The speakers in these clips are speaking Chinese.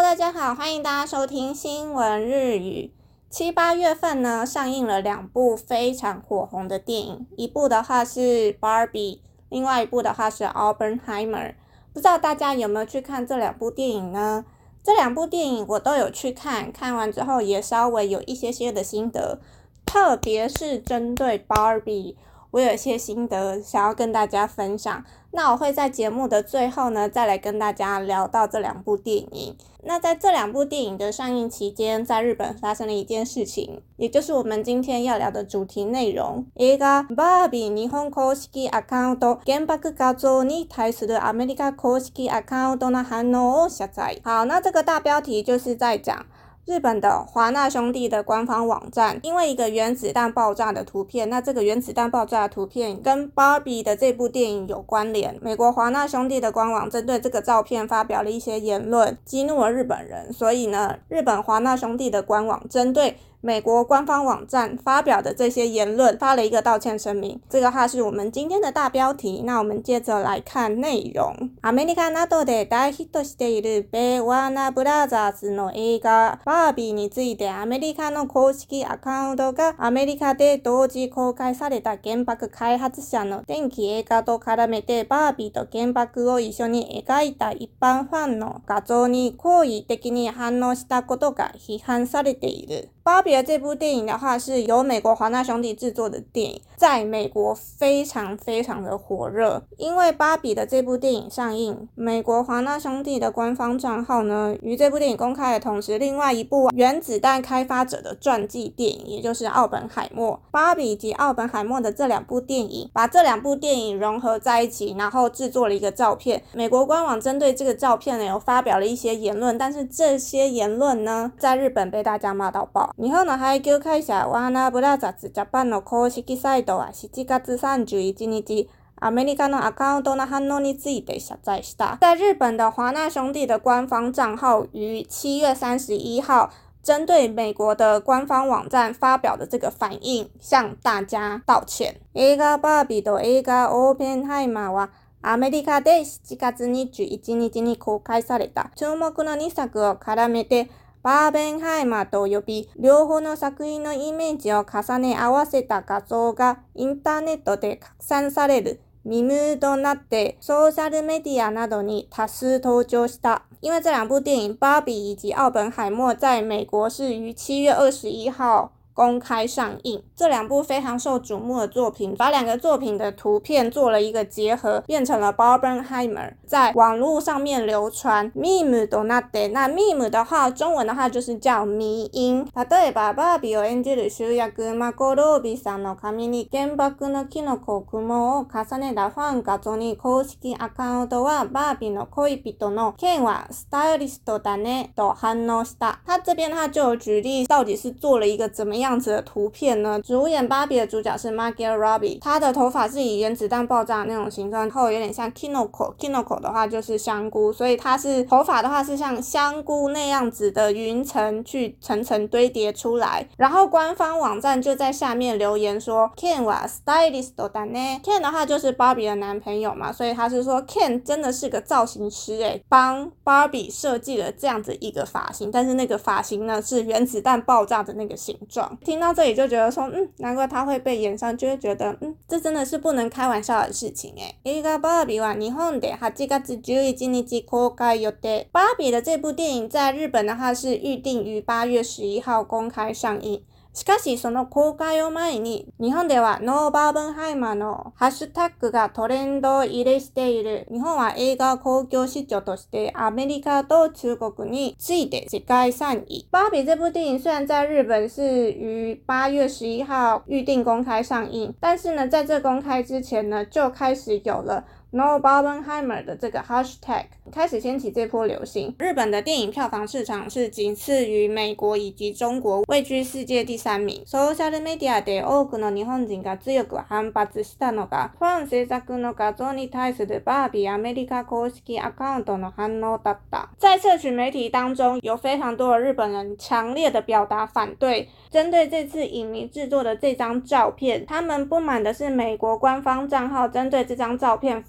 大家好，歡迎大家收聽新聞日語。7、8月份呢，上映了2部非常火紅的電影，一部的話是 Barbie， 另外一部的話是 Oppenheimer。不知道大家有沒有去看這2部電影呢？這2部電影我都有去看，看完之後也稍微有一些的心得，特別是針對 Barbie， 我有一些心得想要跟大家分享。那我會在節目的最後呢，再來跟大家聊到這2部電影。那在這2部電影的上映期間，在日本發生了一件事情，也就是我們今天要聊的主題內容。映画バービー日本公式アカウント原爆畫像に対するアメリカ公式アカウントの反応を謝罪。好，那這個大標題就是在講日本的華納兄弟的官方網站，因為一個原子彈爆炸的圖片，那這個原子彈爆炸的圖片跟 Barbie 的這部電影有關聯。美國華納兄弟的官網針對這個照片發表了一些言論，激怒了日本人，所以呢，日本華納兄弟的官網針對美國官方網站發表的這些言論發了一個道歉聲明，這個是我們今天的大標題。那我們接着來看內容。アメリカなどで大ヒットしている米ワーナーブラザーズの映画バービーについてアメリカの公式アカウントがアメリカで同時公開された原爆開発者の電気映画と絡めてバービーと原爆を一緒に描いた一般ファンの畫像に好意的に反応したことが批判されている。芭比的這部電影的話，是由美國華納兄弟製作的電影，在美國非常的火熱。因為芭比的這部電影上映，美國華納兄弟的官方賬號呢，於這部電影公開的同時，另外一部原子彈開發者的傳記電影，也就是奧本海默，芭比以及奧本海默的這2部電影，把這2部電影融合在一起，然後製作了一個照片。美國官網針對這個照片呢，有發表了一些言論，但是這些言論呢，在日本被大家罵到爆。日本の配給會社ワーナーブラザーズジャパンの公式サイトは7月31日、アメリカのアカウントの反応について謝罪した。在日本的華納兄弟的官方賬號於7月31號針對美國的官方網站發表的這個反應，向大家道歉。映画バービーと映画オーペンハイマーはアメリカで7月21日に公開された注目の2作を絡めてバーベンハイマーと呼び、両方の作品のイメージを重ね合わせた画像がインターネットで拡散されるミムとなってソーシャルメディアなどに多數登場した。因為這2部電影芭比以及奧本海默在美國是於7月21號公開上映，這2部非常受矚目的作品，把2個作品的圖片做了一個結合，變成了 Barbenheimer， 在網絡上面流傳。meme となって，那 meme 的話，中文的話就是叫迷因。例えばバービーを演じる主役マコロービーさんの髪に原爆のキノコ雲を重ねたファン画像に公式アカウントはバービーの恋人のケンはスタイリストだねと反応した。他這邊他就有舉例，到底是做了一個怎麼樣子的圖片呢？主演芭比的主角是 Margot Robbie， 她的頭髮是以原子彈爆炸的那種形狀，然後有點像 Kinoko 的話就是香菇，所以她是頭髮的話是像香菇那樣子的雲層去層層堆疊出來。然後官方網站就在下面留言說 Ken はスタイリストだね。 Ken 的話就是芭比的男朋友嘛，所以他是說 Ken 真的是個造型師誒，幫芭比設計了這樣子一個髮型，但是那個髮型呢是原子彈爆炸的那個形狀。聽到這裡就覺得說，難怪他會被炎上，就會覺得，這真的是不能開玩笑的事情誒。映畫バービーは日本で8月11日公開予定。芭比的這部電影在日本的話是預定於8月11號公開上映。しかしその公開を前に日本ではノーバーベンハイマーのハッシュタグがトレンド入れしている。日本は映画興行市場としてアメリカと中国に次いで世界3位。芭比這部電影雖然在日本是於8月11號預定公開上映，但是呢，在這公開之前呢，就開始有了No Barbenheimer 的這個 hashtag 開始掀起這波流行。日本的電影票房市場是僅次於美國以及中國，位居世界第3名。ソーシャルメディアで多くの日本人が強く反発したのが、ファン制作の畫像に対するバービーアメリカ公式アカウントの反応だった。在社群媒體當中，有非常多的日本人強烈的表達反對，針對這次影迷製作的這張照片，他們不滿的是美國官方賬號針對這張照片發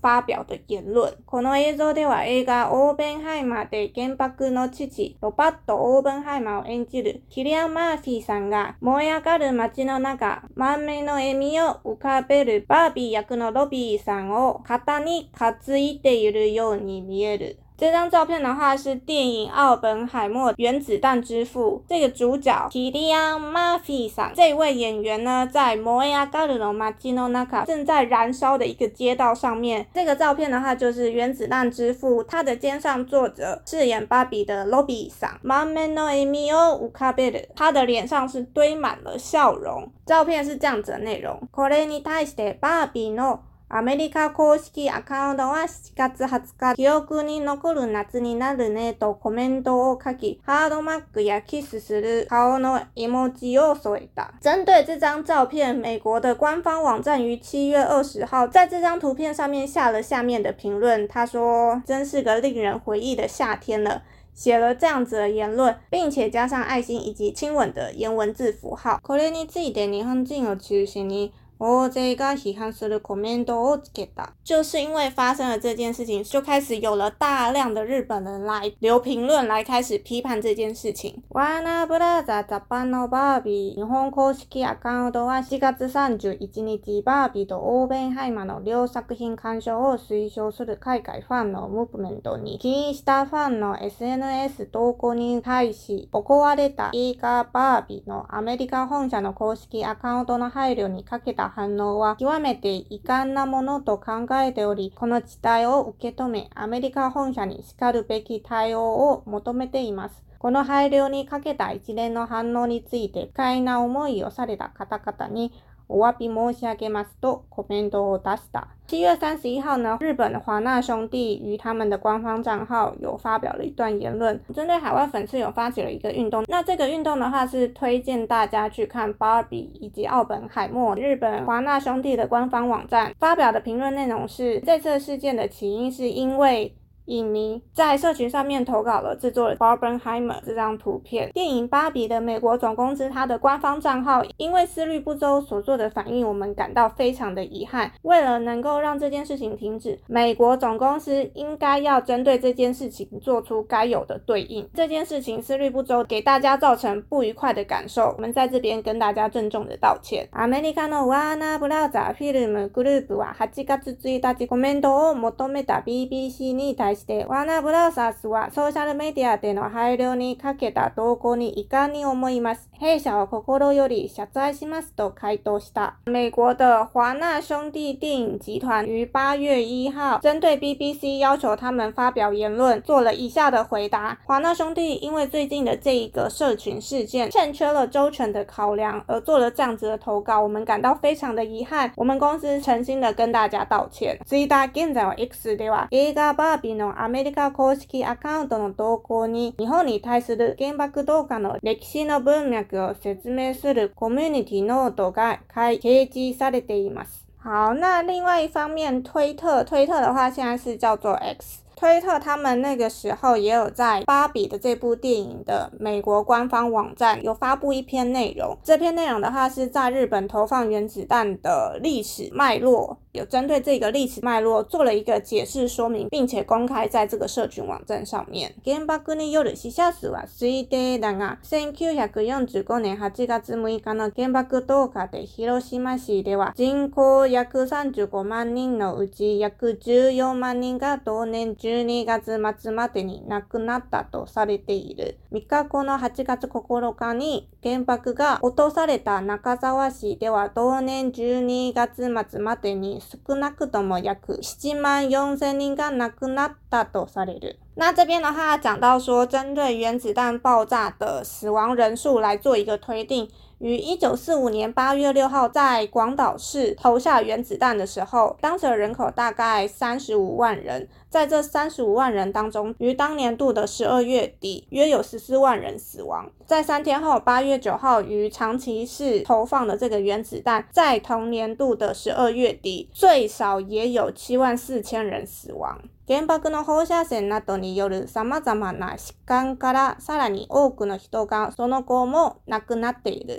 發表的言論。この映像では映画オーベンハイマーで原爆の父ロバット・オーベンハイマーを演じるキリアン・マーフィーさんが燃え上がる街の中、満面の笑みを浮かべるバービー役のロビーさんを肩に担いでいるように見える。這張照片的話是電影《奧本海默原子彈之父》這個主角キリアン・マーフィーさん這位演員呢，在燃え上がる街の中正在燃燒的一個街道上面。這個照片的話就是原子彈之父，他的肩上坐着飾演芭比的ロビーさん。滿面の笑みを浮かべる，他的臉上是堆滿了笑容。照片是這樣子的內容。これに対してバービーのアメリカ公式アカウントは7月20日、記憶に残る夏になるねとコメントを書き、ハードマックやキスする顔の絵文字を添えた。針對這張照片，美國的官方網站於7月20號在這張圖片上面下了下面的評論，他說：“真是個令人回憶的夏天了。”寫了這樣子的言論，並且加上愛心以及親吻的顏文字符號。これについて日本人を中心に大勢が批判するコメントをつけた。就是因為發生了這件事情，就開始有了大量的日本人來留評論，來開始批判這件事情。ワーナーブラザージャパンのバービー日本公式アカウントは4月31日、バービーとオーベンハイマーの両作品鑑賞を推奨する海外ファンのムーブメントに起因したファンの SNS 投稿に対し行われた映画バービーのアメリカ本社の公式アカウントの配慮にかけた反応は極めて遺憾なものと考えており、この事態を受け止め、アメリカ本社にしかるべき対応を求めています。この配慮にかけた一連の反応について不快な思いをされた方々にお詫び申し上げますとコメントを出した。7月31號呢，日本的華納兄弟於他們的官方賬號有發表了一段言論，針對海外粉絲有發起了一個運動。那這個運動的話是推薦大家去看 Barbie 以及奧本海默。日本華納兄弟的官方網站發表的評論內容是，這次事件的起因是因為影迷在社群上面投稿了制作了 Barbenheimer 這張圖片。電影《芭比》的美國總公司它的官方賬號因為思慮不周所做的反應，我們感到非常的遺憾。為了能夠讓這件事情停止，美國總公司應該要針對這件事情做出該有的對應。這件事情思慮不周，給大家造成不愉快的感受，我們在這邊跟大家鄭重的道歉。アメリカのワーナーブラザーフィルムグループは8月1日コメントを求めた BBC に対してワーナーブラザーズはソーシャルメディアでの配慮にかけた投稿に遺憾に思います。弊社は心より謝罪しますと回答した。美國的華納兄弟電影集團於8月1號針對 BBC 要求他們發表言論做了以下的回答。華納兄弟因為最近的這一個社群事件欠缺了周全的考量而做了這樣子的投稿，我們感到非常的遺憾。我們公司誠心的跟大家道歉。Twitter 現在は X では映画バービーのアメリカ公式アカウントの投稿に日本に対する原爆投下の歴史の文脈を説明するコミュニティノートが掲示されています。好，那另外一方面，推特的話現在是叫做 X。推特他們那個時候也有在芭比的這部電影的美國官方網站有發布一篇內容，這篇內容的話是在日本投放原子彈的歷史脈絡，有針對這個歷史脈絡做了一個解釋說明，並且公開在這個社群網站上面。原爆による死者數は推定だが、1945年8月6日の原爆投下で広島市では人口約35万人のうち約14万人が同年12月末までに亡くなったとされている。3日後の8月9日に原爆が落とされた中沢市では同年12月末までに少なくとも約7万4千人が亡くなったとされる。那這邊的話講到說，針對原子彈爆炸的死亡人數來做一個推定，於1945年8月6號在廣島市投下原子彈的時候，當時的人口大概35萬人，在這35萬人當中，於當年度的12月底約有14萬人死亡。在3天後8月9號於長崎市投放的這個原子彈，在同年度的12月底最少也有7萬4千人死亡。原爆の放射線などによる様々な疾患からさらに多くの人がその後も亡くなっている。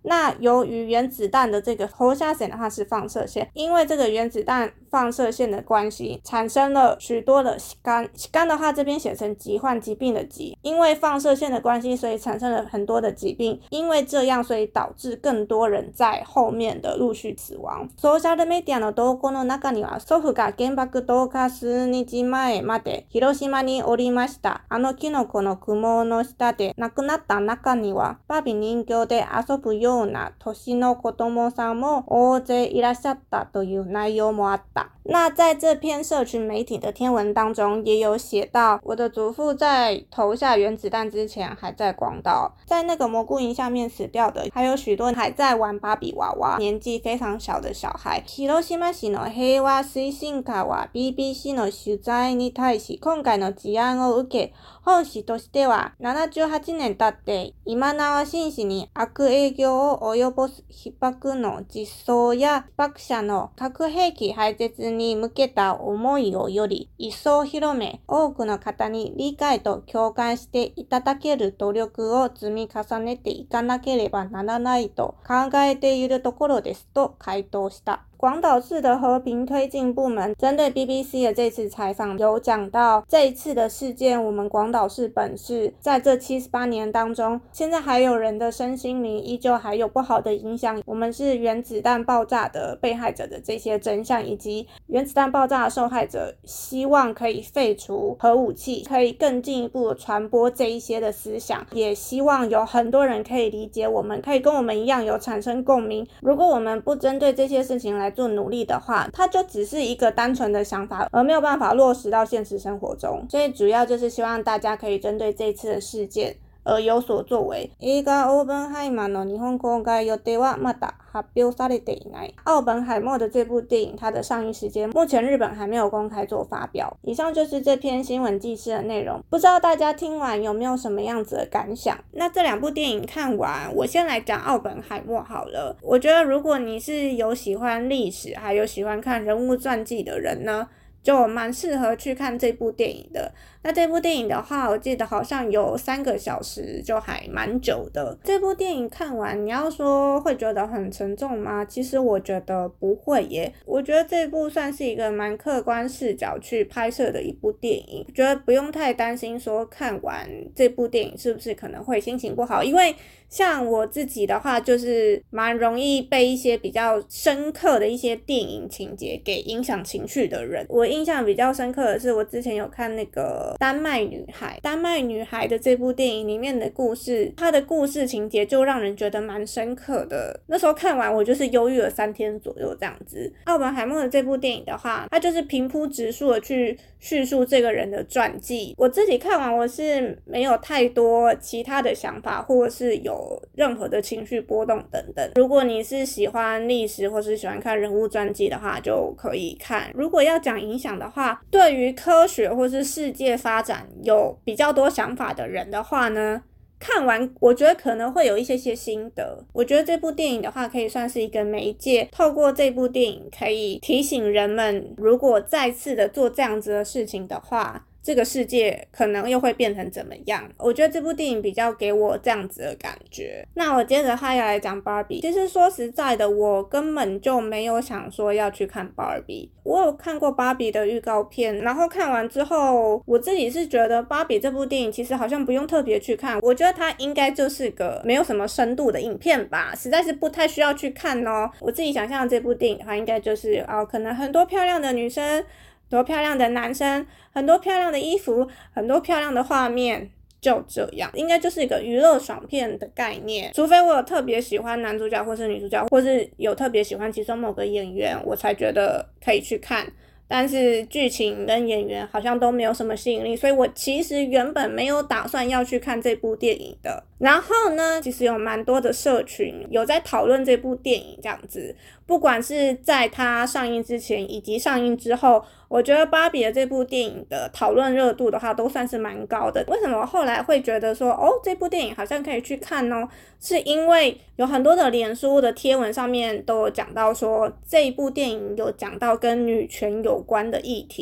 那由於原子彈的這個放射線的話是放射線，因為這個原子彈放射線的關係，產生了許多的疾患。疾患的話這邊寫成疾患，疾病的疾，因為放射線的關係，所以產生了很多的疾病。因為這樣，所以導致更多人在後面的陸續死亡。ソーシャルメディアの投稿の中には、祖父が原爆投下数日前まで広島におりました。あのキノコの雲の下で亡くなった中には、バービー人形で遊ぶような年の子供さんも大勢いらっしゃったという內容もあった。那在這篇社群媒體的天文當中，也有寫到，我的祖父在投下原子彈之前還在廣島，在那個蘑菇雲下面死掉的，還有許多還在玩芭比娃娃，年紀非常小的小孩。広島市の平和推進課は BBC の取材に対し、今回の事案を受け、本市としては78年経って今縄紳士に悪影響を及ぼす被爆の実相や被爆者の核兵器廃絶に向けた思いをより一層広め、多くの方に理解と共感していただける努力を積み重ねていかなければならないと考えているところですと回答した。廣島市的和平推進部門針對 BBC 的這次採訪有講到，這一次的事件，我們廣島市本市在這78年當中，現在還有人的身心靈依舊還有不好的影響。我們是原子彈爆炸的被害者的這些真相，以及原子彈爆炸的受害者希望可以廢除核武器，可以更進一步傳播這一些的思想，也希望有很多人可以理解我們，可以跟我們一樣有產生共鳴。如果我們不針對這些事情來做努力的話，它就只是一個單純的想法，而沒有辦法落實到現實生活中。所以主要就是希望大家可以針對這次的事件而有所作為。映画オープンハイマーの日本公開予定はまだ発表されていない。奧本海默的這部電影，它的上映時間目前日本還沒有公開做發表。以上就是這篇新聞記事的內容，不知道大家聽完有沒有什麼樣子的感想？那這兩部電影看完，我先來講奧本海默好了。我覺得如果你是有喜歡歷史，還有喜歡看人物傳記的人呢，就蠻適合去看這部電影的。那這部電影的話，我記得好像有3個小時，就還蠻久的。這部電影看完，你要說會覺得很沉重嗎？其實我覺得不會耶。我覺得這部算是一個蠻客觀視角去拍攝的一部電影，覺得不用太擔心說看完這部電影是不是可能會心情不好，因為像我自己的話，就是蠻容易被一些比較深刻的一些電影情節給影響情緒的人。我印象比較深刻的是，我之前有看那個丹麥女孩的這部電影裡面的故事，它的故事情節就讓人覺得蠻深刻的。那時候看完我就是憂鬱了3天左右這樣子。奧本海默的這部電影的話，它就是平鋪直述的去敘述這個人的傳記。我自己看完我是沒有太多其他的想法，或者是有任何的情緒波動等等。如果你是喜歡歷史或是喜歡看人物傳記的話，就可以看。如果要講影響的話，對於科學或是世界發展有比較多想法的人的話呢，看完我覺得可能會有一些心得。我覺得這部電影的話可以算是一個媒介，透過這部電影可以提醒人們，如果再次的做這樣子的事情的話，這個世界可能又會變成怎麼樣。我覺得這部電影比較給我這樣子的感覺。那我接着還要來講 Barbie。其實說實在的，我根本就沒有想說要去看 Barbie。我有看過 Barbie 的預告片，然後看完之後，我自己是覺得 Barbie 這部電影其實好像不用特別去看。我覺得它應該就是個沒有什麼深度的影片吧，實在是不太需要去看哦。我自己想象的這部電影的話，應該就是可能很多漂亮的女生，很多漂亮的男生，很多漂亮的衣服，很多漂亮的畫面，就這樣，應該就是一個娛樂爽片的概念。除非我有特別喜歡男主角或是女主角，或是有特別喜歡其中某個演員，我才覺得可以去看。但是劇情跟演員好像都沒有什麼吸引力，所以我其實原本沒有打算要去看這部電影的。然後呢，其實有蠻多的社群有在討論這部電影這樣子，不管是在它上映之前以及上映之後，我覺得芭比的這部電影的討論熱度的話都算是蠻高的。為什麼後來會覺得說這部電影好像可以去看呢？是因為有很多的臉書的貼文上面都有講到說，這一部電影有講到跟女權有關的議題。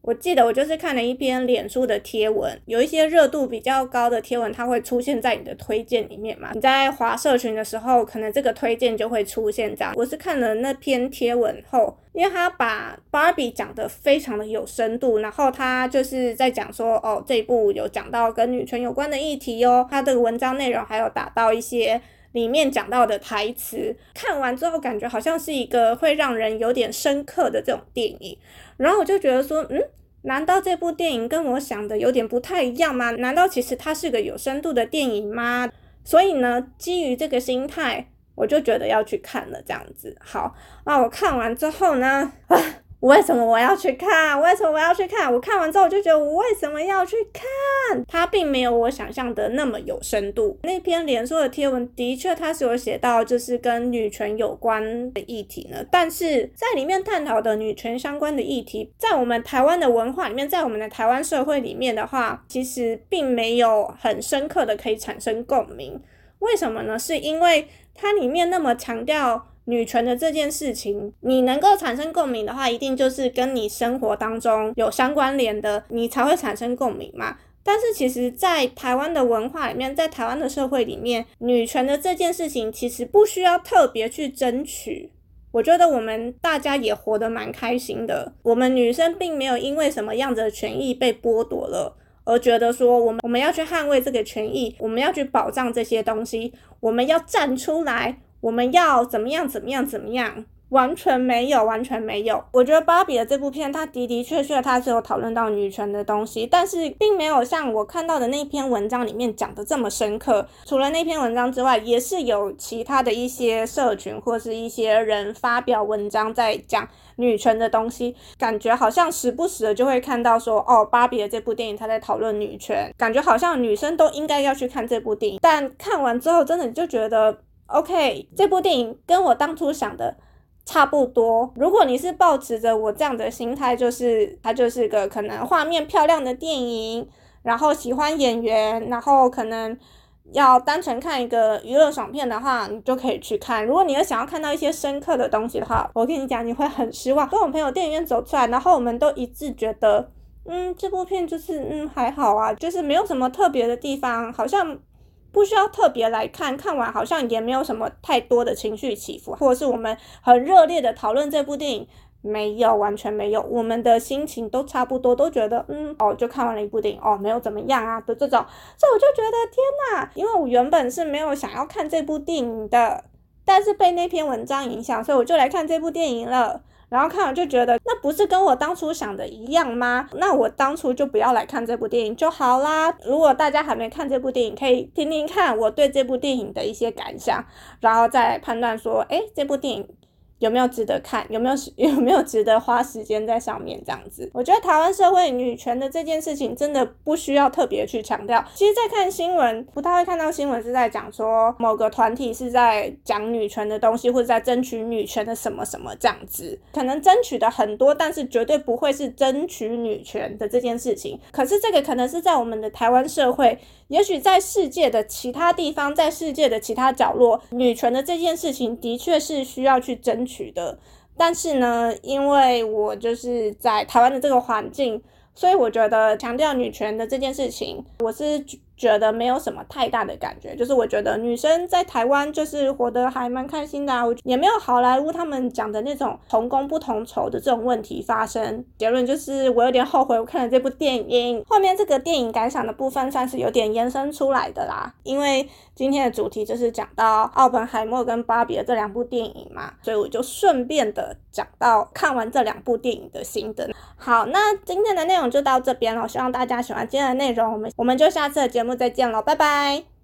我記得我就是看了一篇臉書的貼文，有一些熱度比較高的貼文，它會出現在你的推薦裡面嘛。你在滑社群的時候，可能這個推薦就會出現這樣。我是看了那篇貼文後，因為他把 Barbie 講得非常的有深度，然後他就是在講說，哦，這一部有講到跟女權有關的議題哦，他的文章內容還有打到一些裡面講到的台詞，看完之後感覺好像是一個會讓人有點深刻的這種電影。然後我就覺得說，難道這部電影跟我想的有點不太一樣嗎？難道其實它是個有深度的電影嗎？所以呢，基於這個心態，我就覺得要去看了這樣子。好，那我看完之後呢，為什麼我要去看？為什麼我要去看？我看完之後我就覺得我為什麼要去看？它並沒有我想象的那麼有深度。那篇臉書的貼文的確它是有寫到就是跟女權有關的議題呢，但是在裡面探討的女權相關的議題，在我們台灣的文化裡面，在我們的台灣社會裡面的話，其實並沒有很深刻的可以產生共鳴。為什麼呢？是因為它裡面那麼強調女權的這件事情，你能夠產生共鳴的話，一定就是跟你生活當中有相關聯的，你才會產生共鳴嘛。但是其實在台灣的文化裡面，在台灣的社會裡面，女權的這件事情其實不需要特別去爭取。我覺得我們大家也活得蠻開心的，我們女生並沒有因為什麼樣子的權益被剝奪了，而覺得說我們要去捍衛這個權益，我們要去保障這些東西，我們要站出來，我們要怎麼樣，完全沒有。我覺得芭比的這部片，它的確它是有討論到女權的東西，但是並沒有像我看到的那篇文章裡面講的這麼深刻。除了那篇文章之外，也是有其他的一些社群或是一些人發表文章在講女權的東西，感覺好像時不時的就會看到說，哦，芭比的這部電影它在討論女權，感覺好像女生都應該要去看這部電影。但看完之後真的就覺得 OK， 這部電影跟我當初想的差不多。如果你是抱持着我這樣的心態，就是它就是個可能畫面漂亮的電影，然後喜歡演員，然後可能要單純看一個娛樂爽片的話，你就可以去看。如果你要想要看到一些深刻的東西的話，我跟你講，你會很失望。跟我朋友電影院走出來，然後我們都一致覺得，這部片就是還好啊，就是沒有什麼特別的地方，好像不需要特別來看，看完好像也沒有什麼太多的情緒起伏，或者是我們很熱烈的討論這部電影，沒有，完全沒有，我們的心情都差不多，都覺得就看完了一部電影，沒有怎麼樣啊的這種。所以我就覺得天哪，因為我原本是沒有想要看這部電影的，但是被那篇文章影響，所以我就來看這部電影了。然後看完就覺得，那不是跟我當初想的一樣嗎？那我當初就不要來看這部電影就好啦。如果大家還沒看這部電影，可以聽聽看我對這部電影的一些感想，然後再判斷說，這部電影有沒有值得看，有沒有值得花時間在上面這樣子。我覺得台灣社會女權的這件事情真的不需要特別去強調。其實在看新聞，不太會看到新聞是在講說某個團體是在講女權的東西，或者在爭取女權的什麼什麼這樣子。可能爭取的很多，但是絕對不會是爭取女權的這件事情。可是這個可能是在我們的台灣社會，也許在世界的其他地方，在世界的其他角落，女權的這件事情的確是需要去爭取的。但是呢，因為我就是在台灣的這個環境，所以我覺得強調女權的這件事情，我是覺得沒有什麼太大的感覺。就是我覺得女生在台灣就是活得還蠻開心的啊，也沒有好萊塢他們講的那種同工不同酬的這種問題發生。結論就是我有點後悔我看了這部電影。後面這個電影感想的部分算是有點延伸出來的啦，因為今天的主題就是講到奧本海默跟芭比的這兩部電影嘛，所以我就順便的講到看完這兩部電影的心得。好，那今天的內容就到這邊了，希望大家喜歡今天的內容，我們就下次的節目再見了，拜拜。